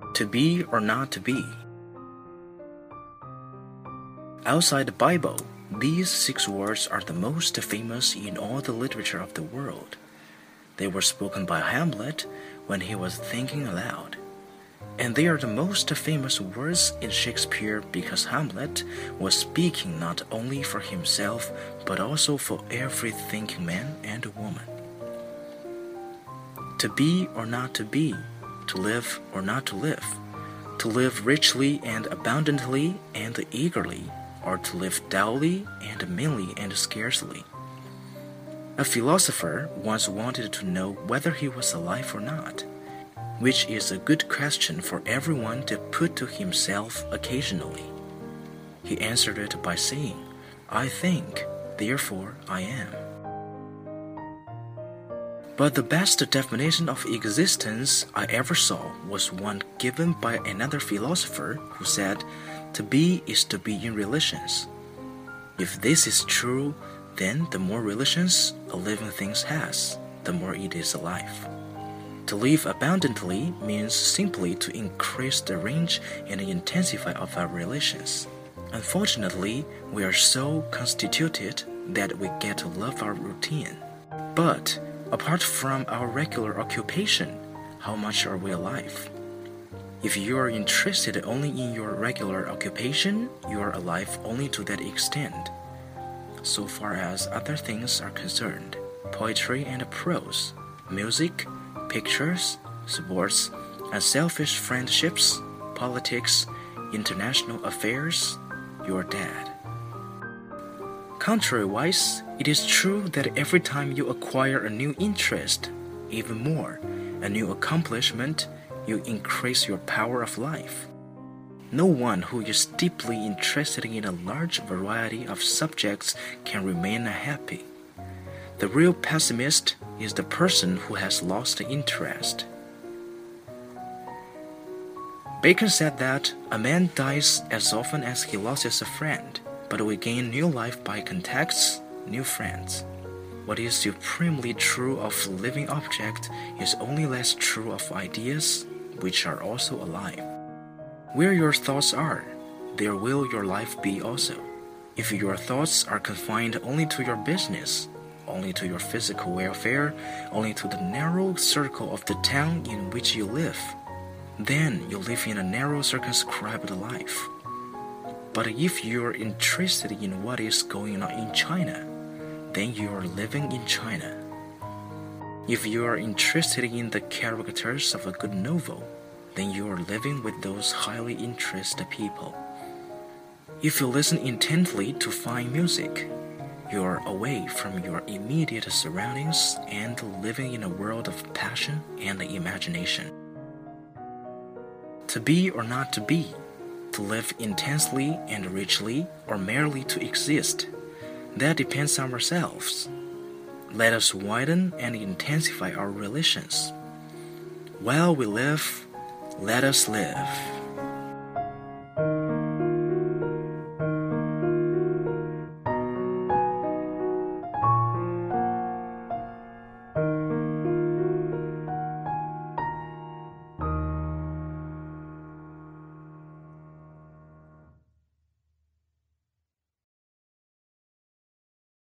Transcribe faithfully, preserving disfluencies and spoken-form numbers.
To be or not to be. Outside the Bible, these six words are the most famous in all the literature of the world. They were spoken by Hamlet when he was thinking aloud. And they are the most famous words in Shakespeare because Hamlet was speaking not only for himself but also for every thinking man and woman. To be or not to be, to live or not to live, to live richly and abundantly and eagerly, or to live dully and meanly and scarcely. A philosopher once wanted to know whether he was alive or not, which is a good question for everyone to put to himself occasionally. He answered it by saying, "I think, therefore I am." But the best definition of existence I ever saw was one given by another philosopher who said, "To be is to be in relations." If this is true, then the more relations a living thing has, the more it is alive. To live abundantly means simply to increase the range and intensity of our relations. Unfortunately, we are so constituted that we get to love our routine. But apart from our regular occupation, how much are we alive? If you are interested only in your regular occupation, you are alive only to that extent. So far as other things are concerned, poetry and prose, music, pictures, sports, unselfish friendships, politics, international affairs, you are dead. Contrariwise, it is true that every time you acquire a new interest, even more, a new accomplishment, you increase your power of life. No one who is deeply interested in a large variety of subjects can remain happy. The real pessimist is the person who has lost interest. Bacon said that a man dies as often as he loses a friend, but we gain new life by contacts, new friends. What is supremely true of living objects is only less true of ideas, which are also alive. Where your thoughts are, there will your life be also. If your thoughts are confined only to your business, only to your physical welfare, only to the narrow circle of the town in which you live, then you live in a narrow circumscribed life. But if you are interested in what is going on in China, then you are living in China. If you are interested in the characters of a good novel, then you are living with those highly interested people. If you listen intently to fine music, you are away from your immediate surroundings and living in a world of passion and imagination. To be or not to be, to live intensely and richly, or merely to exist, that depends on ourselves. Let us widen and intensify our relations. While we live, let us live.